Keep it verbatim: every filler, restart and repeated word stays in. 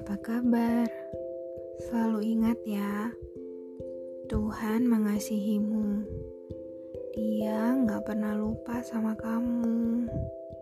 Apa kabar? Selalu ingat ya, Tuhan mengasihimu. Dia gak pernah lupa sama kamu.